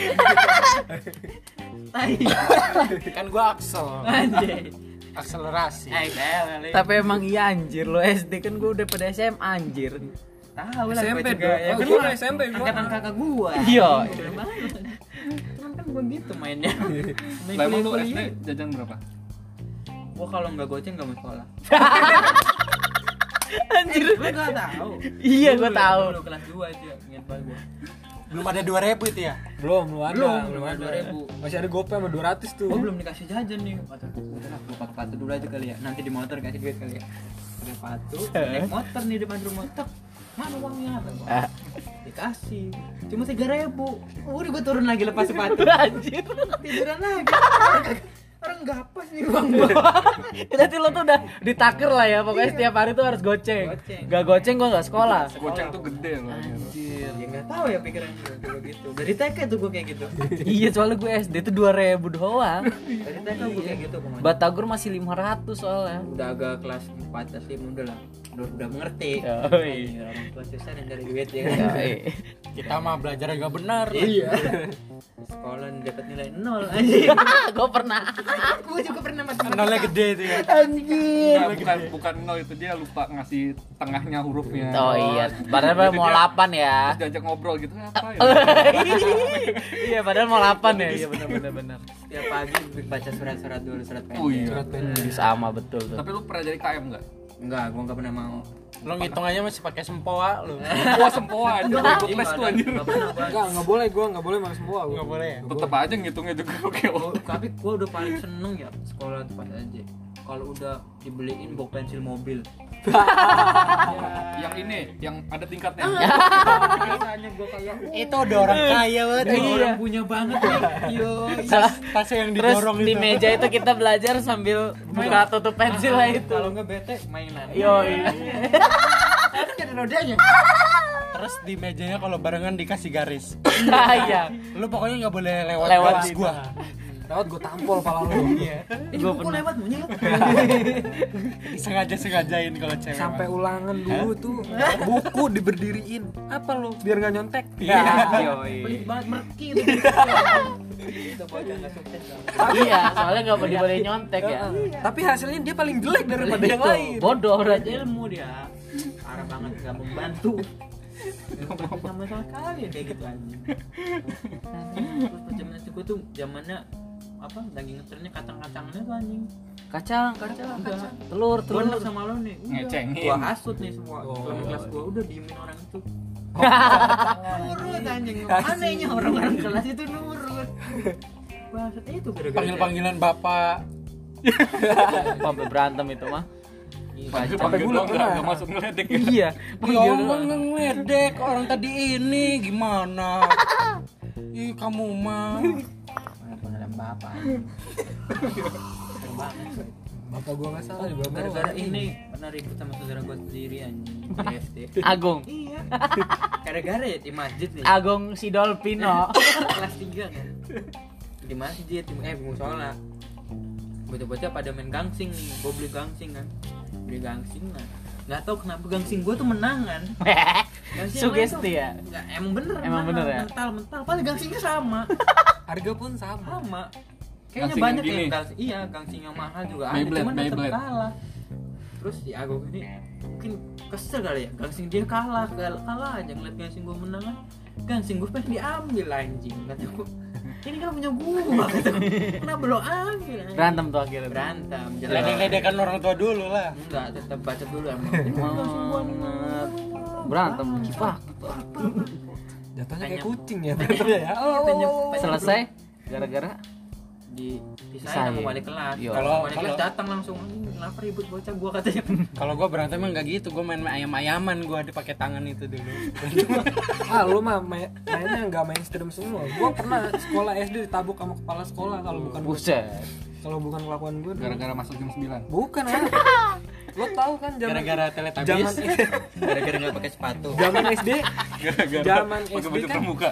Tai. Kan gua Axel. Anjir. Akselerasi. Eh, kali. Tapi emang iya anjir lo S D kan gua udah pada S M A anjir. Tahu lah S M P gua juga. dong. Ya, Oh, kan gua gua S M P gua. angkatan kakak gua. Iya. Bener banget. Cuman kan gua gitu mainnya. Main Lah emang lu S D kuliah-kuliah. jajan berapa? Gua kalau nggak goceng nggak mau sekolah. Anjir. Gua nggak tahu. Iya, gua Dulu, tahu. Dulu kelas dua itu ya, ingat banget gua. Belum ada dua ribu itu ya? Belum, belum ada. Belum, belum ada dua ribu. Masih ada GoPay sama dua ratus tuh. Gua belum dikasih jajan nih. Kata gua, udah lah, gua pakai sepatu dulu aja kali ya. Nanti di motor kasih duit kali ya. Pakai sepatu, naik motor nih depan rumah. Tek, mana uangnya? Kata gua. Ah. Dikasih. Cuma tiga ribu. Udah gua turun lagi lepas sepatu. Anjir. Tiduran lagi. Orang gapas nih uang gua. Berarti lo tuh udah ditaker lah ya, pokoknya setiap hari tuh harus goceng. Goceng. Gak goceng gua gak sekolah. Goceng tuh gede loh. Anjir. Ya nggak tahu ya pikiran gue dulu gitu. Dari T K tuh gue kayak gitu. Iya, soalnya gue S D tuh dua ribu doang. Dari T K gue kayak gitu pokoknya. Batagor masih lima ratus soalnya. Udah agak kelas empat kelas lima udah lah. Udah, udah mengerti. Yoi. Iya, orang tua susah yang dari duit ya kan. Yoi. Kita mah belajar agak benar. Iya. Sekolah dapat nilai nol anjing. Gue pernah. Gue juga pernah matematika. Nolnya gede itu ya. Anjir. Nggak, bukan bukan nol itu, dia lupa ngasih tengahnya hurufnya. Oh iya, padahal Jadi mau dia- delapan ya. Terus diajak ngobrol gitu apa ya? Iya, padahal mau delapan ya. Iya benar benar benar. Tiap pagi baca surat-surat dulu, surat pendek. Oh iya. Surat pendek. Hmm, sama betul tuh. Tapi lu pernah jadi K M enggak? Enggak, gue enggak pernah mau. Lo ngitung aja masih pakai sempoa lu. Wah, sempoa aja. Enggak Ikut les tuh anjir. Enggak pernah gua. Enggak, enggak boleh gua, enggak boleh makan semua gua. Enggak boleh ya? Tetep aja ngitungnya juga oke. Gua- Tapi gue udah paling seneng ya sekolah tuh pas aja. Kalau udah dibeliin box pensil mobil. Yang ini, yang ada tingkatnya. Biasanya gue kayak Itu udah orang kaya banget. Ini Iya. orang punya banget nih. Yo. Tasnya yang Terus didorong di itu. meja itu kita belajar sambil buka tutup pensil lah itu. Kalau nggak bete mainan. Yo, iya. Kan ada rodanya. Terus di mejanya kalau barengan dikasih garis. Iya. Lu pokoknya nggak boleh lewat, Lewat garis gua. Lewat gua tampol pala lu. Iya. Ini Gua buku pernah. lewat monyet. Sengaja-sengajain kalau cewek. Sampai mah. ulangan dulu tuh buku diberdiriin. Apa lu? Biar enggak nyontek. Iya. Pelit banget merki itu. Itu bocah nggak sukses. Iya, soalnya nggak boleh boleh nyontek ya. Tapi hasilnya dia paling jelek daripada yang Itu, lain. bodoh berarti. Ilmu dia. Parah banget nggak membantu. Nggak sama sekali ya kayak gitu aja. Terus pas zaman itu gue tuh zamannya apa lagi ngetrennya kacang-kacangnya tuh anjing. Kacang, kacang, Enggak. kacang. Telur, Gue telur. sama lo nih. Udah. Ngecengin. Gua hasut nih semua. Oh. Selama kelas gua udah diemin orang itu. Nurut anjing. Anehnya orang-orang kelas itu nurut. Bangsat itu gara-gara Panggil-panggilan bapak. Sampai berantem itu mah. Panggil Sampai panggil gua doang pernah. nggak nggak masuk ngeledek ya. Iya. Ya Allah ngedek orang tadi ini gimana? Ih kamu mah. pengalaman bapak. Bapak gua enggak salah juga. Gara-gara ini pernah ribut sama saudara gua sendiri anjing di S D. Agung. Iya. Gara-gara ya di masjid nih. Agung Sidolpino. Kelas tiga kan. Di masjid, di eh di musola. bocah-bocah pada main gangsing nih, gue beli gangsing kan, beli gangsing nah, nggak tahu kenapa gangsing gue tuh menangan. Gangsing yang lain tuh Sugesti ya. nggak, emang bener, Emang bener ya? mental mental, paling gangsingnya sama, Harga pun sama. sama. Kayaknya Gangsing banyak yang yang gini. gangsing, iya gangsing yang mahal juga ada, Beyblade, cuman tetap Beyblade. kalah. Terus si Agung ini mungkin kesel kali ya, gangsing dia kalah, kalah, kalah aja ngeliat gangsing gue menang kan, gangsing gue pengen diambil anjing, kata gue. Ini kan punya gua, kata gue. Kenapa lo ambil? anjing? Berantem tuh akhirnya. Berantem, jelas. Ledek-ledekan orang tua dulu lah. Enggak, tetap baca dulu emang. Ini kan gangsing gua nih. Berantem kifah. Jatuhnya kayak Tanya- kucing ya berantemnya ya. Oh, Tanya- oh, oh. Selesai gara-gara di Pisahin. pisahin sama wali kelas. Yo. Kalau- Wali kelas kalau- datang langsung, "Anjing, kenapa ribut bocah gua," katanya. Kalau gua berantem emang nggak gitu, gua main ayam-ayaman gua dipakai tangan itu dulu. Ah lu mah main- mainnya nggak mainstream semua. Gua pernah sekolah S D ditabuk sama kepala sekolah kalau bukan buset. kalau bukan kelakuan gue. Gara-gara masuk jam sembilan. Bukan ah. Lo tahu kan zaman Gara-gara zaman Teletubbies. Gara-gara enggak pakai sepatu. zaman S D Gara-gara Zaman pakai S D baju kan? pramuka.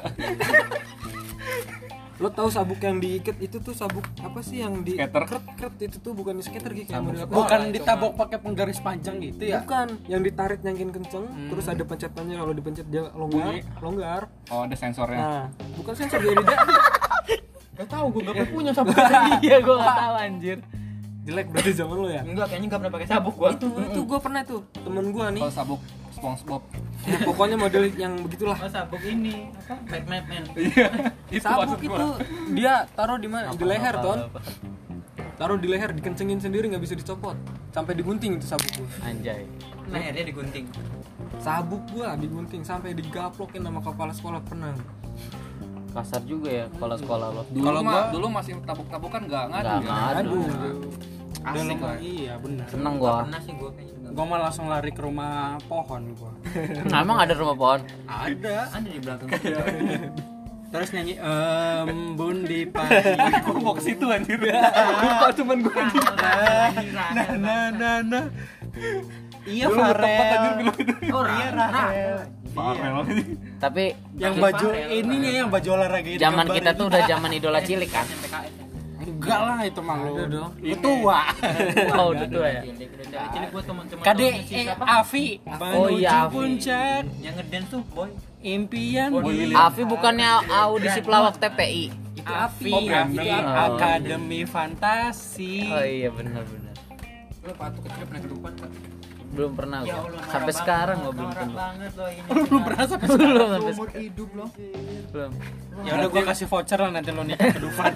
lo tahu sabuk yang diikat itu tuh sabuk apa sih yang di Skater. kret kret itu tuh bukan di skater gitu yang Sabuk model apa? Bukan Bola, ditabok pakai penggaris panjang gitu ya? Bukan, yang ditarik nyangkin kenceng, terus ada pencetannya, kalau dipencet dia longgar, Bunyi. longgar. Oh, ada sensornya. Nah, bukan sensor dia tidak Enggak tahu gua enggak punya sabuk. Iya gua enggak tahu anjir. jelek berarti zaman lo ya. Enggak, kayaknya enggak pernah pakai sabuk gua. Itu itu gue pernah tuh temen gue nih. Kalau sabuk SpongeBob. Ya, pokoknya model yang begitulah. Oh, sabuk ini apa? Mad Mad Man. Iya. Itu Sabuk maksud itu gua. dia taruh di mana? Di leher ton. Taruh di leher, dikencengin sendiri nggak bisa dicopot. Sampai digunting itu sabuk gue. Anjay. Nah, akhirnya digunting. Sabuk gua digunting sampai digaplokin sama kepala sekolah pernah. Kasar juga ya kepala sekolah lo. Dulu Kalau mah, gua- dulu masih tabuk-tabukan enggak ngadu Nggak ya. ngadu. Aduh. Asik lah. Iya benar. Seneng Enggak gua. pernah sih gua kayaknya enggak. Gua malah langsung lari ke rumah pohon gua. Nah, emang ada rumah pohon? Ada. Ada di belakang. Terus nyanyi embun di pagi. Gua mau ke situ anjir. Lupa cuman gua anjir. Nah nah nah nah. Iya Dulu tempat anjir Farel. bilang itu. Oh, Iya Rara. Farel. Farel. Tapi Yang Iya, baju Farel. ininya yang baju olahraga itu. zaman gambar kita itu. tuh udah zaman idola cilik kan. P K S. Enggak lah itu mah lu. Ada dong. Lu tua. Oh, udah tua ya. Cilik, udah dari cilik gua teman-teman K D doang si E siapa? Afi. Oh, iya, Menuju Afi. puncak Yang ngedance tuh, boy. impian. Boy di- William. Afi bukannya audisi pelawak T P I. Itu Afi, Oh, Brandon. Afi, Oh. Akademi Fantasi. Oh iya benar benar. Lu waktu kecil pernah ke depan kan? Belum pernah Ya gua. Allah, Sampai norak sekarang banget, gua belum norak pernah. banget loh ini. Belum pernah sampai Belum sampai Seumur hidup loh. belum. Ya udah gua kasih voucher lah nanti lo nikah ke Dufan.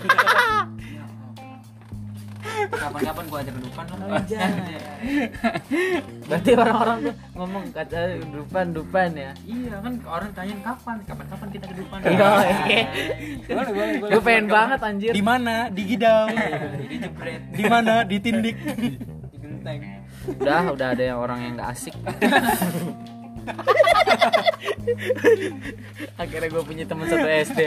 Kapan-kapan gua ajak ke depan lah. Berarti orang-orang tuh ngomong kata dupan dupan ya. Iya kan orang tanyain kapan, kapan-kapan kita ke depan. Iya. Boleh, boleh, boleh. Gue pengen banget anjir. Di mana? Di Gidau. Di jebret, Di mana? Di Tindik. di genteng. Udah udah ada yang orang yang nggak asik. Akhirnya gue punya teman satu S D.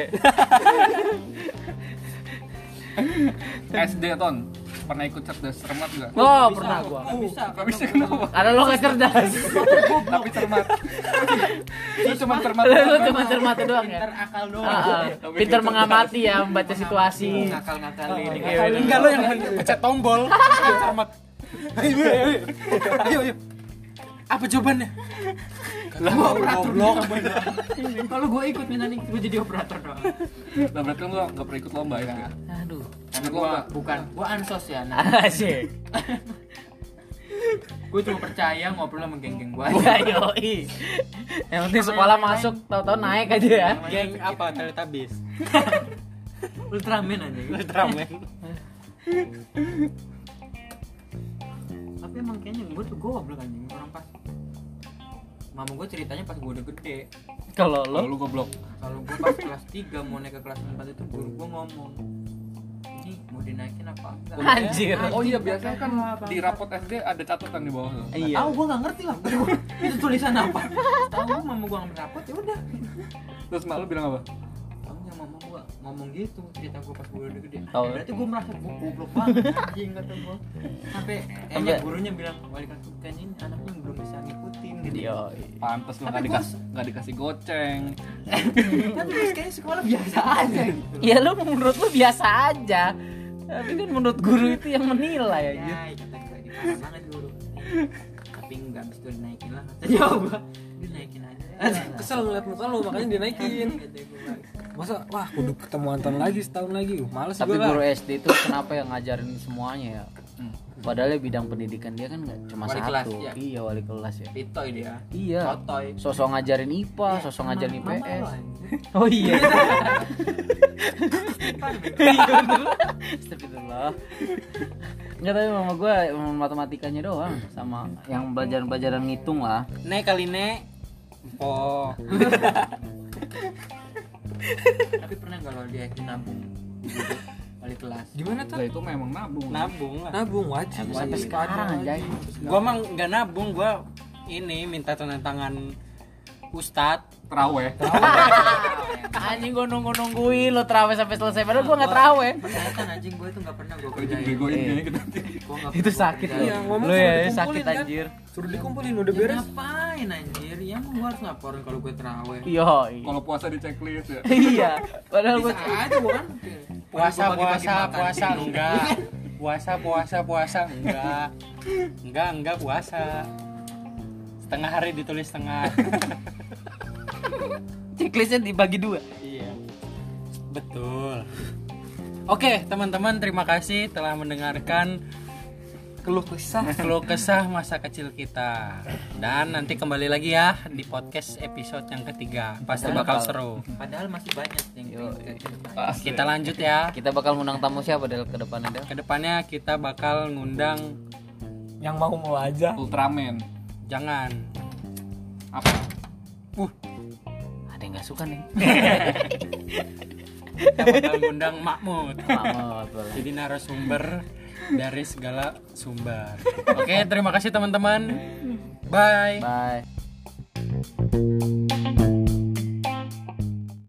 S D ton. Pernah ikut cerdas cermat enggak? Oh pernah gua. Nggak bisa. Enggak bisa kenapa? Karena lo gak cerdas. Tapi cermat. Itu cuma cermat. Lo cuma cermat doang ya. Pinter akal doang. Ah, ah. Pinter mengamati ya, membaca situasi. Ngakal-ngakal ini. Enggak lo yang pencet tombol. Cermat. Ayo, ayo, ayo. Ayo, ayo. Apa jawabannya? Lah goblok. Kalau gua ikut minta nih gua jadi operator doang. Lah berarti lu enggak pernah ikut lomba ya kan? Aduh. Karena Ikut gua lomba. bukan, gua ansos ya. Nah. Asik. Gua cuma percaya ngobrol sama geng-geng gua Ya aja. yoi. Yang penting sekolah masuk tahu-tahu naik aja ya. Geng apa? Teletubbies. Ultraman aja. Ultraman. Tapi emang kayaknya gua tuh goblok anjing orang pas. Mama gua ceritanya pas gua udah gede. Kalau Kalau lo lu goblok. Kalau gua pas kelas tiga mau naik ke kelas empat itu guru gua ngomong, "Ini mau dinaikin apa enggak?" Anjir. Oh iya biasanya kan di rapot S D ada catatan di bawah tuh. Iya. Tahu gua enggak ngerti lah. Itu tulisan apa? Tahu mama gua ngambil rapot ya udah. Terus mak lu bilang apa? Tahunya mama gua ngomong gitu cerita gua pas gua udah gede. Tahu. Berarti gua merasa gua goblok banget anjing kata gua. Sampai kayaknya Sampai- gurunya bilang, "Wali kelas kayaknya ini anaknya belum bisa ngikutin gitu." Yoi. Pantes lu Tapi enggak gua- dikasih enggak dikasih goceng. Tapi terus kayaknya sekolah biasa aja gitu. Ya lu menurut lu biasa aja. Tapi kan menurut guru itu yang menilai aja. Ya, kata gue ini parah banget guru. Tapi enggak habis itu dinaikin lah. Kata gua, dinaikin aja. Kesel ngeliat muka lu makanya dinaikin. Kata gua. Masa wah kudu ketemu Anton lagi setahun lagi. Uh, males Tapi gua guru lah. S D itu kenapa yang ngajarin semuanya ya? Padahal ya bidang pendidikan dia kan nggak cuma Wali satu. kelas, ya. Iya, wali kelas ya. Pitoy dia. Iya. Sotoy. Sosok ngajarin I P A, Ya, sosok mama- ngajarin I P mama S. lo, anjir. Oh iya. Iya bener. Astagfirullah. Enggak, tapi mama gue matematikanya doang sama yang pelajaran-pelajaran ngitung lah. Nek kali nek. Oh. Tapi pernah enggak lo dia nabung? Wali kelas. Gimana tuh? Lah itu memang nabung. Nabung lah. Nabung wajib. Sampai sekarang anjay. Gua mah nggak nabung, gua ini minta tanda tangan Ustadz. Terawih. Anjing gue nunggu-nungguin lo terawih sampai selesai padahal gue enggak terawih. Persyaratan anjing gue itu enggak pernah gue Kerja kerjain. begoin Iya. kayaknya kita. Gua nggak Itu pernah sakit kerjain. Iya, ngomong lo suruh ya dikumpulin, sakit kan? anjir. Suruh dikumpulin udah Ya beres. ngapain anjir? Ya emang gua harus ngaporin kalau gue terawih. Iya. Kalau puasa di checklist ya. Iya. Padahal gue Bisa aja bukan? Puasa Gua pagi-pagi puasa makan. puasa enggak. Puasa puasa puasa enggak. Enggak enggak puasa. Setengah hari ditulis setengah. checklistnya dibagi dua. Iya. Betul. Oke, teman-teman, terima kasih telah mendengarkan Keluh kesah. keluh kesah masa kecil kita. Dan nanti kembali lagi ya di podcast episode yang ketiga. Pasti bakal seru. Padahal masih banyak yang Yo, Kita lanjut ya. kita bakal ngundang tamu siapa Del ke depannya Del? Kedepannya kita bakal ngundang, Yang mau mau aja. Ultraman. jangan. Apa? Ada yang nggak suka nih. Kita bakal ngundang Mahmud. Mahmud boleh. Jadi narasumber dari segala sumber. Oke, terima kasih teman-teman. Bye. Bye.